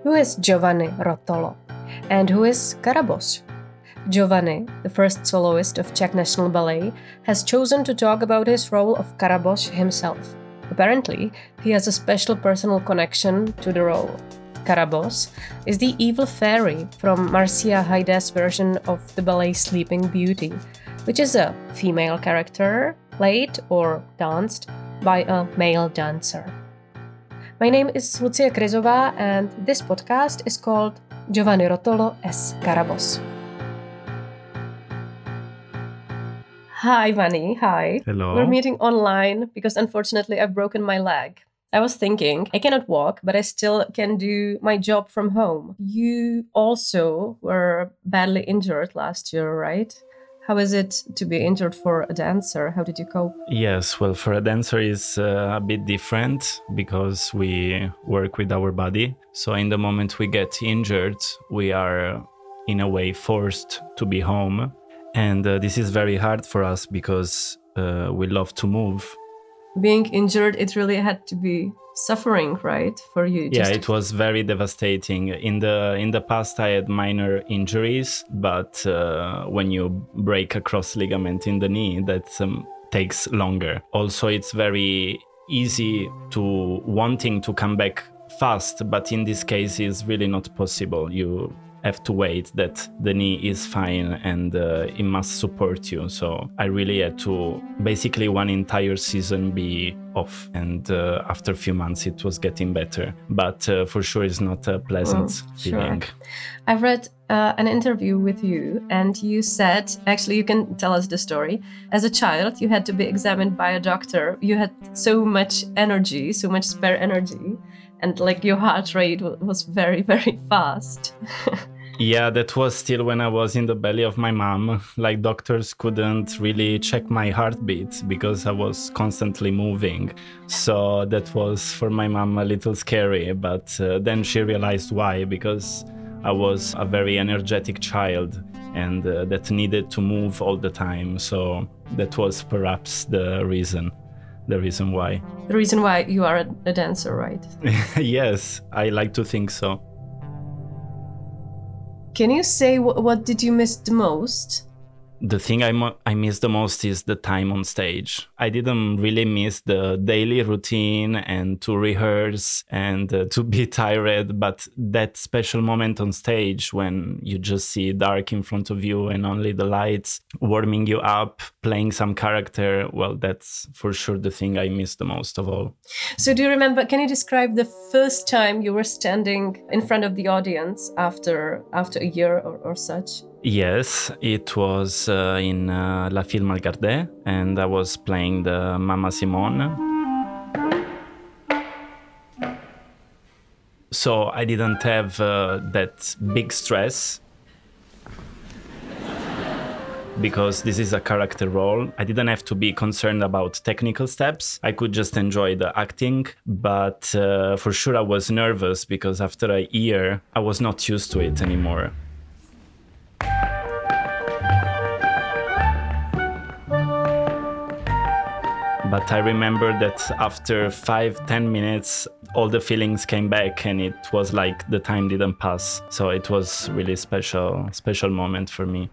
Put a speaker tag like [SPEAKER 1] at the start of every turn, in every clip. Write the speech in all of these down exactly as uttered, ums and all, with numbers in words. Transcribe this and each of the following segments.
[SPEAKER 1] Who is Giovanni Rotolo? And who is Karabos? Giovanni, the first soloist of Czech National Ballet, has chosen to talk about his role of Karabos himself. Apparently, he has a special personal connection to the role. Karabos is the evil fairy from Marcia Hayde's version of the ballet Sleeping Beauty, which is a female character played or danced by a male dancer. My name is Lucia Kryzová and this podcast is called Giovanni Rotolo as Karabos. Hi, Vani. Hi.
[SPEAKER 2] Hello.
[SPEAKER 1] We're meeting online because unfortunately I've broken my leg. I was thinking, I cannot walk, but I still can do my job from home. You also were badly injured last year, right? How is it to be injured for a dancer? How did you cope?
[SPEAKER 2] Yes, well, for a dancer is uh, a bit different because we work with our body. So in the moment we get injured, we are in a way forced to be home. And uh, this is very hard for us because uh, we love to move.
[SPEAKER 1] Being injured, it really had to be suffering, right, for you?
[SPEAKER 2] Yeah,
[SPEAKER 1] Just...
[SPEAKER 2] it was very devastating. In the in the past, I had minor injuries, but uh, when you break a cross ligament in the knee, that um, takes longer. Also, it's very easy to wanting to come back fast, but in this case, it's really not possible. You have to wait that the knee is fine and uh, it must support you. So I really had to basically one entire season be off, and uh, after a few months it was getting better. But uh, for sure it's not a pleasant
[SPEAKER 1] oh,
[SPEAKER 2] feeling.
[SPEAKER 1] Sure. I've read uh, an interview with you and you said, actually you can tell us the story. As a child you had to be examined by a doctor. You had so much energy, so much spare energy. And like your heart rate was very, very fast.
[SPEAKER 2] Yeah, that was still when I was in the belly of my mom. Like doctors couldn't really check my heartbeat because I was constantly moving. So that was for my mom a little scary. But uh, then she realized why, because I was a very energetic child and uh, that needed to move all the time. So that was perhaps the reason. The reason why.
[SPEAKER 1] The reason why you are a dancer, right?
[SPEAKER 2] Yes, I like to think so.
[SPEAKER 1] Can you say w- what did you miss the most?
[SPEAKER 2] The thing I, mo- I miss the most is the time on stage. I didn't really miss the daily routine and to rehearse and uh, to be tired, but that special moment on stage when you just see dark in front of you and only the lights warming you up, playing some character, well, that's for sure the thing I miss the most of all.
[SPEAKER 1] So do you remember, can you describe the first time you were standing in front of the audience after after a year or, or such?
[SPEAKER 2] Yes, it was uh, in uh, La Fille Malgardée, and I was playing the Mama Simone. So I didn't have uh, that big stress because this is a character role. I didn't have to be concerned about technical steps. I could just enjoy the acting, but uh, for sure I was nervous because after a year I was not used to it anymore. But I remember that after five, ten minutes, all the feelings came back and it was like the time didn't pass. So it was really special, special moment for me.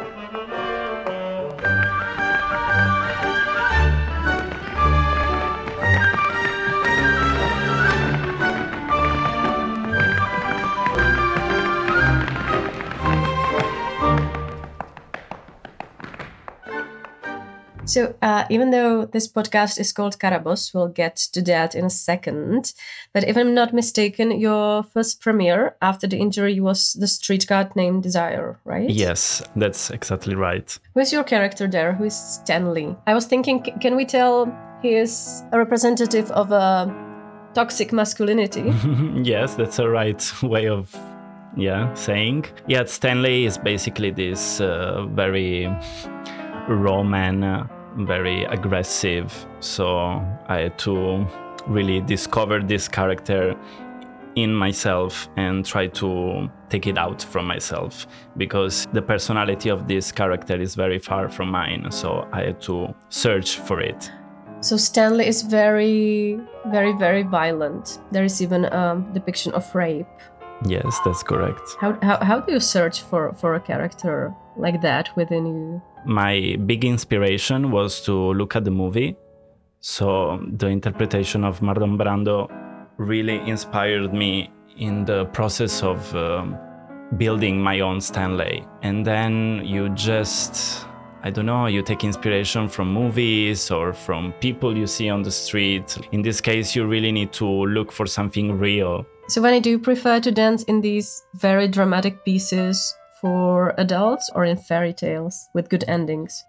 [SPEAKER 1] So uh, even though this podcast is called Karabos, we'll get to that in a second. But if I'm not mistaken, your first premiere after the injury was the street card named Desire, right?
[SPEAKER 2] Yes, that's exactly right.
[SPEAKER 1] Who's your character there? Who is Stanley? I was thinking, can we tell he is a representative of a toxic masculinity?
[SPEAKER 2] Yes, that's a right way of yeah saying. Yeah, Stanley is basically this uh, very raw man, uh, very aggressive. So I had to really discover this character in myself and try to take it out from myself, because the personality of this character is very far from mine. So I had to search for it.
[SPEAKER 1] So Stanley is very, very, very violent. There is even a depiction of rape.
[SPEAKER 2] Yes, that's correct.
[SPEAKER 1] How, how, how do you search for, for a character like that within you?
[SPEAKER 2] My big inspiration was to look at the movie. So the interpretation of Marlon Brando really inspired me in the process of um, building my own Stanley. And then you just, I don't know, you take inspiration from movies or from people you see on the street. In this case, you really need to look for something real.
[SPEAKER 1] So, Vani, do you prefer to dance in these very dramatic pieces for adults or in fairy tales with good endings?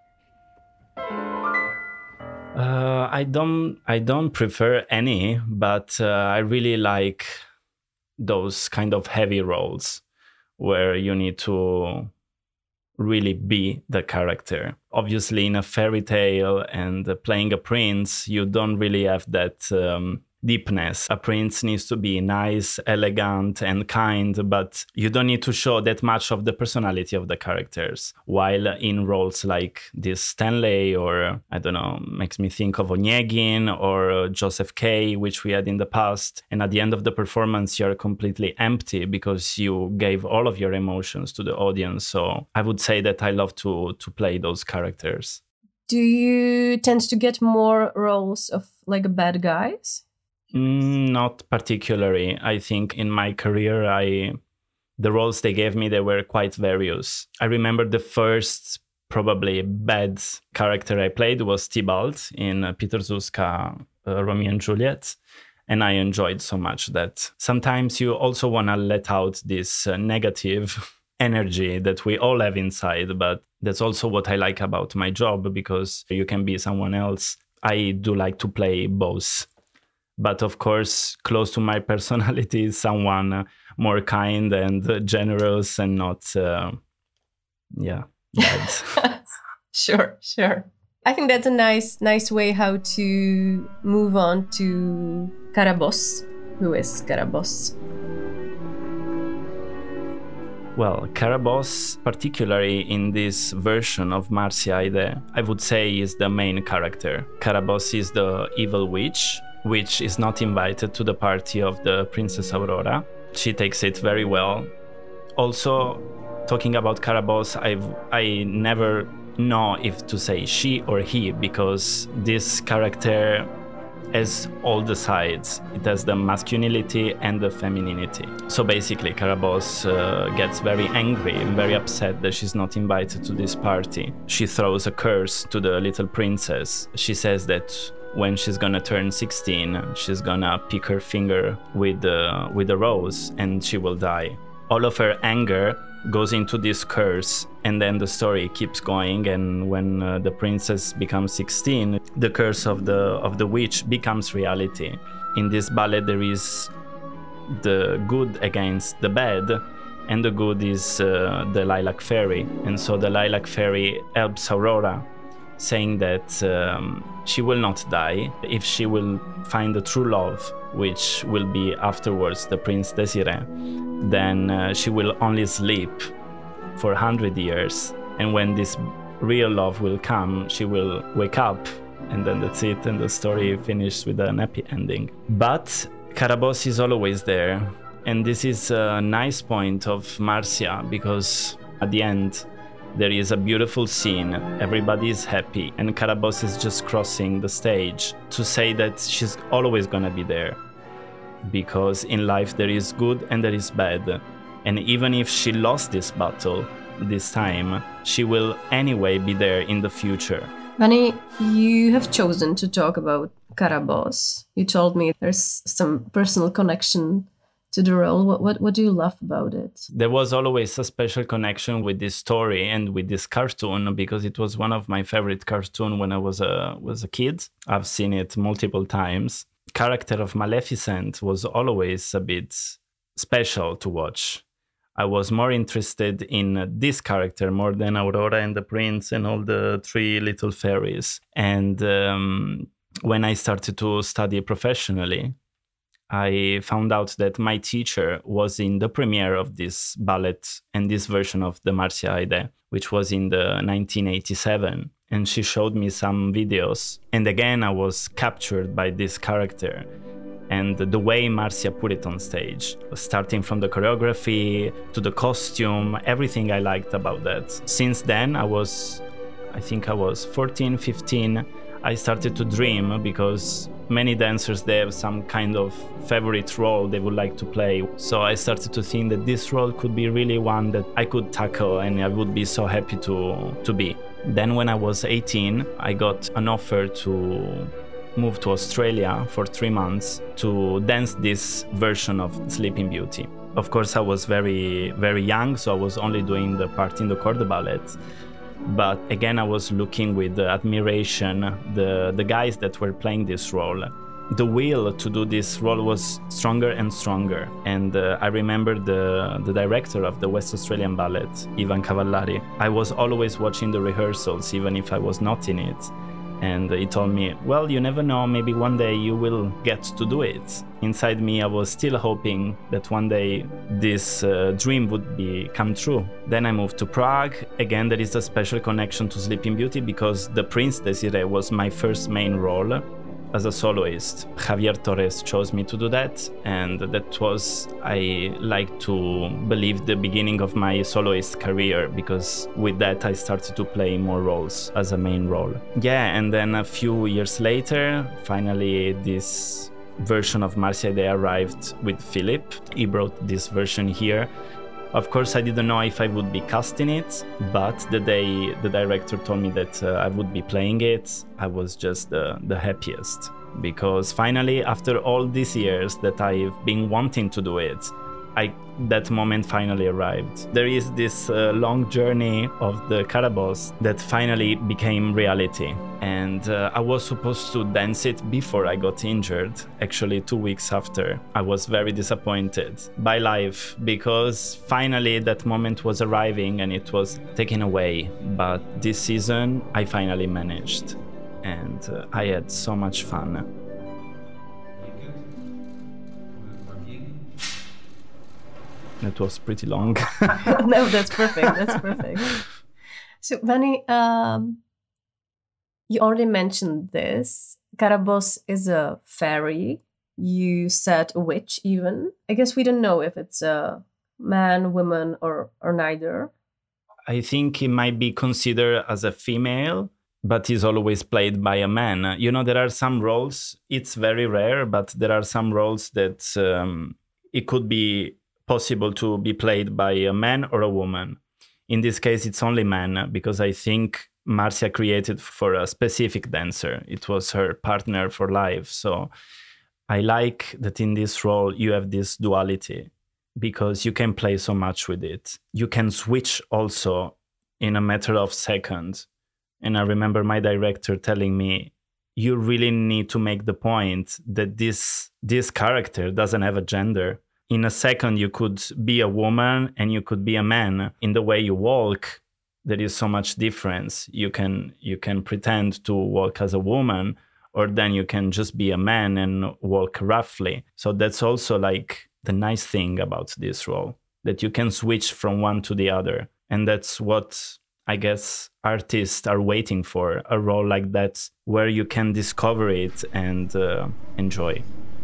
[SPEAKER 2] Uh, I don't. I don't prefer any, but uh, I really like those kind of heavy roles where you need to really be the character. Obviously, in a fairy tale and uh, playing a prince, you don't really have that um, deepness. A prince needs to be nice, elegant, and kind, but you don't need to show that much of the personality of the characters. While in roles like this Stanley, or I don't know, makes me think of Onegin or uh, Joseph K, which we had in the past. And at the end of the performance, you're completely empty because you gave all of your emotions to the audience. So I would say that I love to to play those characters.
[SPEAKER 1] Do you tend to get more roles of like bad guys?
[SPEAKER 2] Mm, not particularly. I think in my career, I the roles they gave me, they were quite various. I remember the first probably bad character I played was Tybalt in uh, Peter Zuska, uh, Romeo and Juliet. And I enjoyed so much that sometimes you also want to let out this uh, negative energy that we all have inside. But that's also what I like about my job, because you can be someone else. I do like to play both. But of course, close to my personality is someone uh, more kind and uh, generous and not, uh, yeah, bad.
[SPEAKER 1] Sure, sure. I think that's a nice, nice way how to move on to Carabosse. Who is Carabosse?
[SPEAKER 2] Well, Carabosse, particularly in this version of Marcia Aide, I would say is the main character. Carabosse is the evil witch, which is not invited to the party of the Princess Aurora. She takes it very well. Also, talking about Carabosse, I've, I never know if to say she or he, because this character has all the sides. It has the masculinity and the femininity. So basically, Carabosse uh, gets very angry and very upset that she's not invited to this party. She throws a curse to the little princess. She says that when she's gonna turn sixteen, she's gonna pick her finger with the with a rose and she will die. All of her anger goes into this curse, and then the story keeps going. And when uh, the princess becomes sixteen, the curse of the of the witch becomes reality. In this ballet, there is the good against the bad, and the good is uh, the Lilac Fairy. And so the Lilac Fairy helps Aurora, saying that um, she will not die if she will find the true love, which will be afterwards the Prince Désiré. Then uh, she will only sleep for one hundred years. And when this real love will come, she will wake up, and then that's it, and the story finishes with an happy ending. But Carabosse is always there. And this is a nice point of Marcia, because at the end, there is a beautiful scene, everybody is happy, and Carabosse is just crossing the stage to say that she's always gonna be there. Because in life there is good and there is bad. And even if she lost this battle this time, she will anyway be there in the future.
[SPEAKER 1] Vani, you have chosen to talk about Carabosse. You told me there's some personal connection to the role. What, what what do you love about it?
[SPEAKER 2] There was always a special connection with this story and with this cartoon, because it was one of my favorite cartoons when I was a was a kid. I've seen it multiple times. Character of Maleficent was always a bit special to watch. I was more interested in this character more than Aurora and the Prince and all the three little fairies. And um, when I started to study professionally, I found out that my teacher was in the premiere of this ballet and this version of the Marcia Aide, which was in the nineteen eighty-seven. And she showed me some videos. And again, I was captured by this character. and the way Marcia put it on stage, starting from the choreography to the costume, everything I liked about that. Since then, I was, I think I was fourteen, fifteen, I started to dream because many dancers, they have some kind of favorite role they would like to play. So I started to think that this role could be really one that I could tackle and I would be so happy to, to be. Then when I was eighteen, I got an offer to move to Australia for three months to dance this version of Sleeping Beauty. Of course, I was very, very young, so I was only doing the part in the corps de ballet. But again, I was looking with admiration the, the guys that were playing this role. The will to do this role was stronger and stronger. And uh, I remember the, the director of the West Australian Ballet, Ivan Cavallari. I was always watching the rehearsals, even if I was not in it. And he told me, well, you never know, maybe one day you will get to do it. Inside me, I was still hoping that one day this uh, dream would be come true. Then I moved to Prague. Again, there is a special connection to Sleeping Beauty because The Prince Désiré was my first main role as a soloist. Javier Torres chose me to do that, and that was, I like to believe, the beginning of my soloist career, because with that I started to play more roles as a main role. Yeah, and then a few years later, finally this version of Marcia Day arrived with Philip. He brought this version here. Of course, I didn't know if I would be cast in it, but the day the director told me that uh, I would be playing it, I was just uh, the happiest. Because finally, after all these years that I've been wanting to do it, I, that moment finally arrived. There is this uh, long journey of the Carabosse that finally became reality. And uh, I was supposed to dance it before I got injured, actually two weeks after. I was very disappointed by life because finally that moment was arriving and it was taken away. But this season I finally managed and uh, I had so much fun. It was pretty long.
[SPEAKER 1] No, that's perfect. That's perfect. So, Vani, um, you already mentioned this. Carabosse is a fairy. You said a witch, even. I guess we don't know if it's a man, woman, or or neither.
[SPEAKER 2] I think he might be considered as a female, but he's always played by a man. You know, there are some roles, it's very rare, but there are some roles that um, it could be possible to be played by a man or a woman. In this case, it's only man, because I think Marcia created for a specific dancer. It was her partner for life. So I like that in this role you have this duality, because you can play so much with it. You can switch also in a matter of seconds. And I remember my director telling me, you really need to make the point that this this character doesn't have a gender. In a second, you could be a woman and you could be a man. In the way you walk, there is so much difference. You can you can pretend to walk as a woman, or then you can just be a man and walk roughly. So that's also like the nice thing about this role, that you can switch from one to the other. And that's what I guess artists are waiting for, a role like that where you can discover it and uh, enjoy.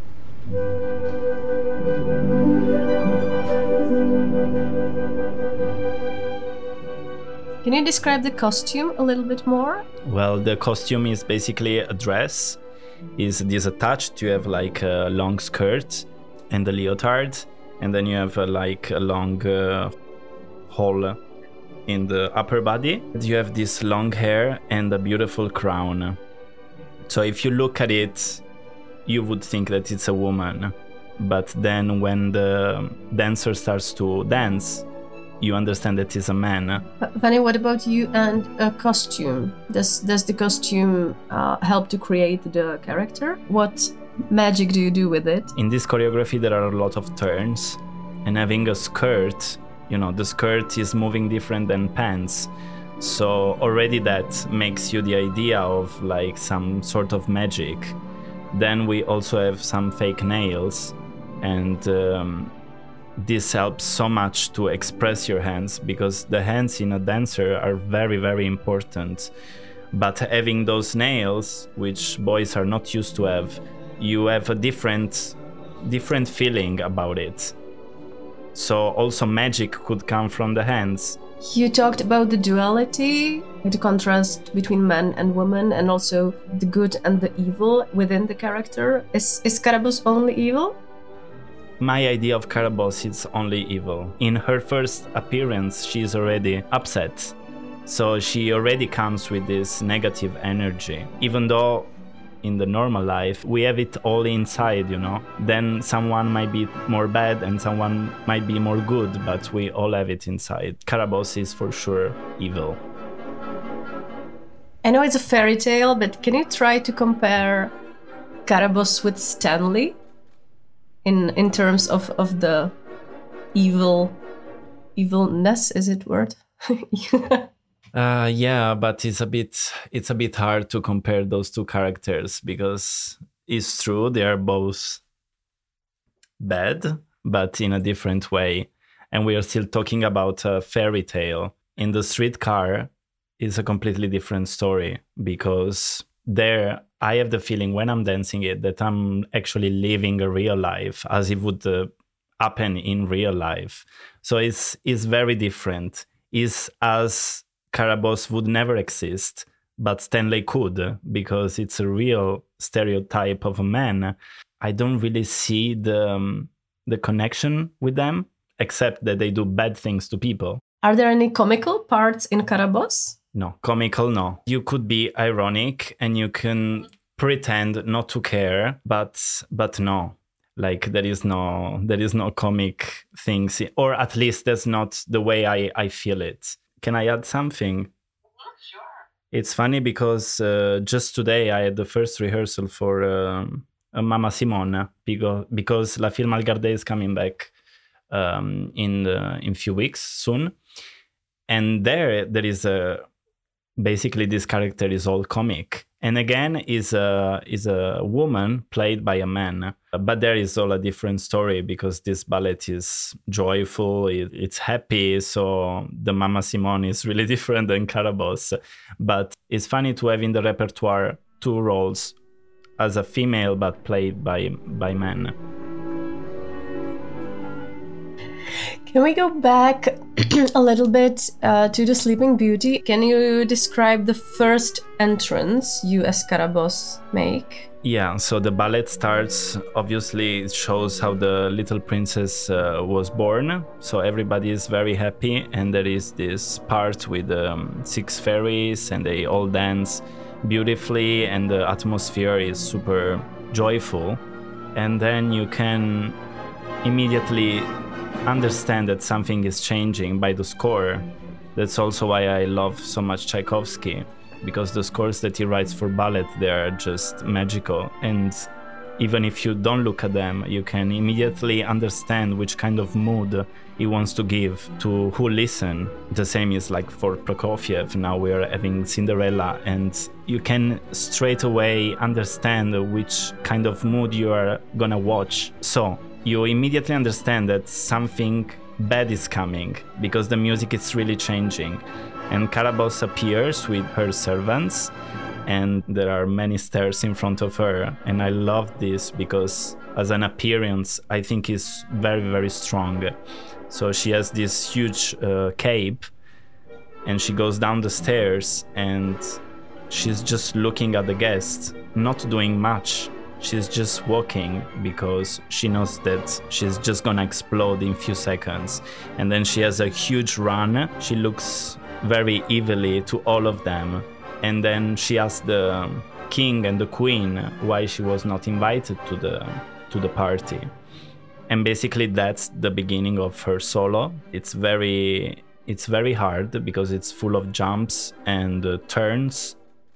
[SPEAKER 1] Can you describe the costume a little bit more?
[SPEAKER 2] Well, the costume is basically a dress. Is this attached? You have like a long skirt and a leotard, and then you have a, like a long uh, hole in the upper body. You have this long hair and a beautiful crown. So if you look at it, you would think that it's a woman. But then when the dancer starts to dance, you understand that it's a man.
[SPEAKER 1] Vani, what about you and a costume? Does does the costume uh, help to create the character? What magic do you do with it?
[SPEAKER 2] In this choreography, there are a lot of turns, and having a skirt, you know, the skirt is moving different than pants. So already that makes you the idea of like some sort of magic. Then we also have some fake nails, and um, this helps so much to express your hands, because the hands in a dancer are very, very important. But having those nails, which boys are not used to have, you have a different different feeling about it. So also magic could come from the hands.
[SPEAKER 1] You talked about the duality, the contrast between man and woman, and also the good and the evil within the character. Is, is Carabosse only evil?
[SPEAKER 2] My idea of Carabosse is only evil. In her first appearance, she's already upset. So she already comes with this negative energy. Even though in the normal life, we have it all inside, you know. Then someone might be more bad and someone might be more good, but we all have it inside. Carabosse is for sure evil.
[SPEAKER 1] I know it's a fairy tale, but can you try to compare Carabosse with Stanley in in terms of, of the evil, evilness, is it word?
[SPEAKER 2] Uh, yeah, but it's a bit it's a bit hard to compare those two characters because it's true they are both bad, but in a different way. And we are still talking about a fairy tale. In The Streetcar is a completely different story because there I have the feeling when I'm dancing it that I'm actually living a real life as it would uh, happen in real life. So it's it's very different. It's as Carabosse would never exist, but Stanley could, because it's a real stereotype of a man. I don't really see the um, the connection with them, except that they do bad things to people.
[SPEAKER 1] Are there any comical parts in Carabosse?
[SPEAKER 2] No, comical, no. You could be ironic and you can pretend not to care, but but no. Like there is no there is no comic things, or at least that's not the way I, I feel it. Can I add something?
[SPEAKER 3] Sure.
[SPEAKER 2] It's funny because uh, just today I had the first rehearsal for um, Mama Simone because, because La Film Algarde is coming back um, in the, in few weeks soon. And there there is a basically this character is all comic. And again is a is a woman played by a man. But there is all a different story because this ballet is joyful, it, it's happy. So the Mama Simone is really different than Carabosse. But it's funny to have in the repertoire two roles as a female but played by by men.
[SPEAKER 1] Can we go back a little bit uh, to the Sleeping Beauty? Can you describe the first entrance you as Carabosse make?
[SPEAKER 2] Yeah, so the ballet starts, obviously it shows how the little princess uh, was born. So everybody is very happy and there is this part with um, six fairies and they all dance beautifully and the atmosphere is super joyful. And then you can immediately understand that something is changing by the score. That's also why I love so much Tchaikovsky, because the scores that he writes for ballet, they are just magical. And even if you don't look at them, you can immediately understand which kind of mood he wants to give to who listen. The same is like for Prokofiev. Now we are having Cinderella, and you can straight away understand which kind of mood you are gonna watch. So you immediately understand that something bad is coming because the music is really changing. And Carabosse appears with her servants and there are many stairs in front of her. And I love this because as an appearance, I think is very, very strong. So she has this huge uh, cape and she goes down the stairs and she's just looking at the guests, not doing much. She's just walking because she knows that she's just gonna explode in few seconds. And then she has a huge run. She looks very evilly to all of them. And then she asks the king and the queen why she was not invited to the to the party. And basically that's the beginning of her solo. It's very it's very hard because it's full of jumps and uh, turns.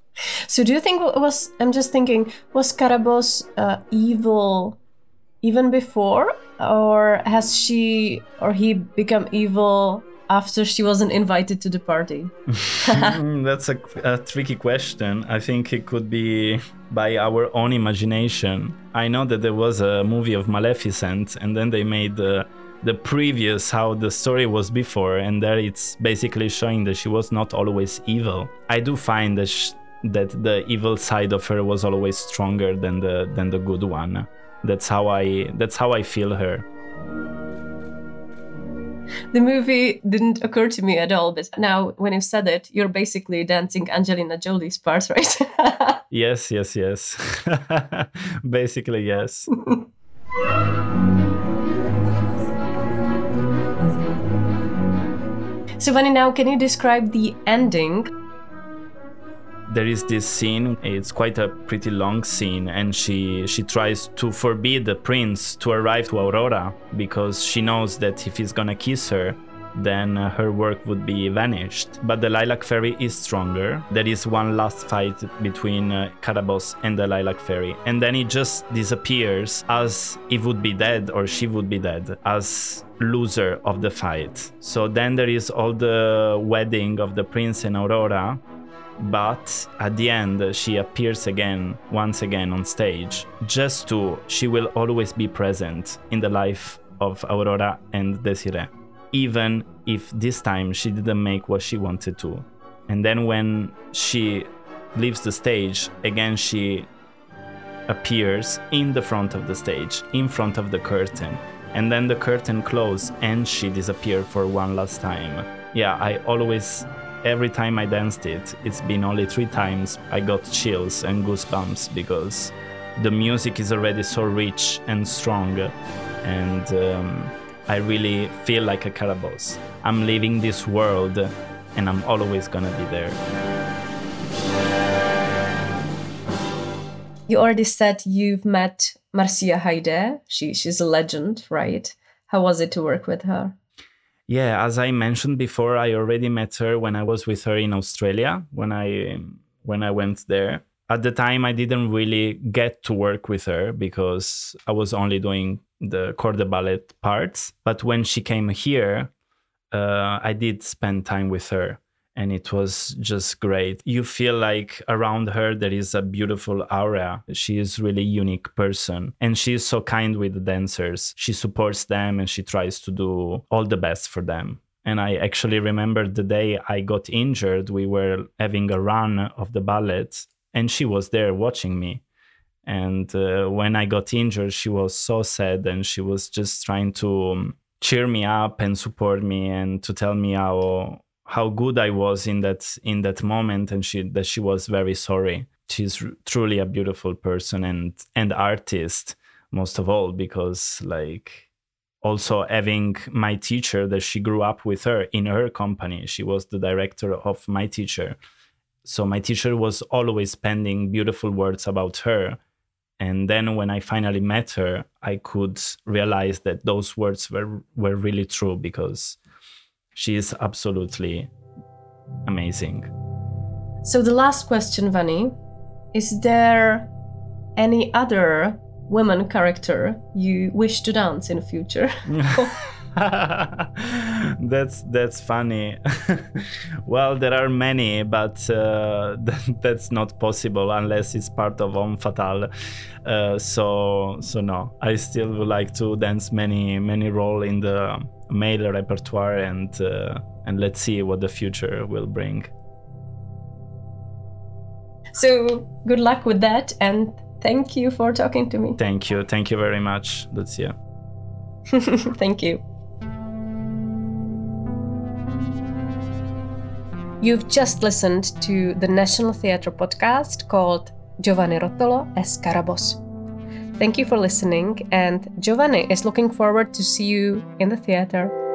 [SPEAKER 1] So do you think was, I'm just thinking, was Carabosse uh, evil even before? Or has she or he become evil after she wasn't invited to the party?
[SPEAKER 2] That's a, a tricky question. I think it could be by our own imagination. I know that there was a movie of Maleficent and then they made the, the previous, how the story was before, and there it's basically showing that she was not always evil. I do find that she, that the evil side of her was always stronger than the than the good one. That's how I that's how I feel her.
[SPEAKER 1] The movie didn't occur to me at all, but now when you said it, you're basically dancing Angelina Jolie's part, right?
[SPEAKER 2] Yes, yes, yes. Basically, yes.
[SPEAKER 1] So, Vani, now can you describe the ending?
[SPEAKER 2] There is this scene, it's quite a pretty long scene, and she she tries to forbid the prince to arrive to Aurora because she knows that if he's gonna kiss her, then uh, her work would be vanished. But the Lilac Fairy is stronger. There is one last fight between uh, Carabosse and the Lilac Fairy, and then it just disappears as if would be dead or she would be dead, as loser of the fight. So then there is all the wedding of the prince and Aurora, but at the end she appears again, once again on stage, just to, she will always be present in the life of Aurora and Desiree, even if this time she didn't make what she wanted to. And then when she leaves the stage, again she appears in the front of the stage, in front of the curtain, and then the curtain closes and she disappeared for one last time. Yeah, I always, every time I danced it, it's been only three times, I got chills and goosebumps because the music is already so rich and strong, and um, I really feel like a Carabosse. I'm leaving this world and I'm always gonna be there.
[SPEAKER 1] You already said you've met Marcia Haydé. She, she's a legend, right? How was it to work with her?
[SPEAKER 2] Yeah, as I mentioned before, I already met her when I was with her in Australia, when I when I went there. At the time, I didn't really get to work with her because I was only doing the corps de ballet parts. But when she came here, uh, I did spend time with her, and it was just great. You feel like around her there is a beautiful aura. She is really a unique person, and she is so kind with the dancers. She supports them and she tries to do all the best for them. And I actually remember the day I got injured, we were having a run of the ballet, and she was there watching me. And uh, when I got injured, she was so sad, and she was just trying to um, cheer me up and support me and to tell me how how good I was in that in that moment, and she that she was very sorry. She's r- truly a beautiful person and and artist, most of all, because like also having my teacher that she grew up with her in her company. She was the director of my teacher. So my teacher was always penning beautiful words about her. And then when I finally met her, I could realize that those words were, were really true, because she is absolutely amazing.
[SPEAKER 1] So the last question, Vani, is there any other woman character you wish to dance in the future?
[SPEAKER 2] that's that's funny. Well, there are many, but uh, that's not possible unless it's part of Homme Fatale. Uh, so so no, I still would like to dance many many roles in the male repertoire, and uh, and let's see what the future will bring.
[SPEAKER 1] So good luck with that, and thank you for talking to me.
[SPEAKER 2] Thank you, thank you very much, Lucia.
[SPEAKER 1] Thank you. You've just listened to the National Theatre podcast called Giovanni Rottolo as Carabosse. Thank you for listening, and Giovanni is looking forward to see you in the theatre.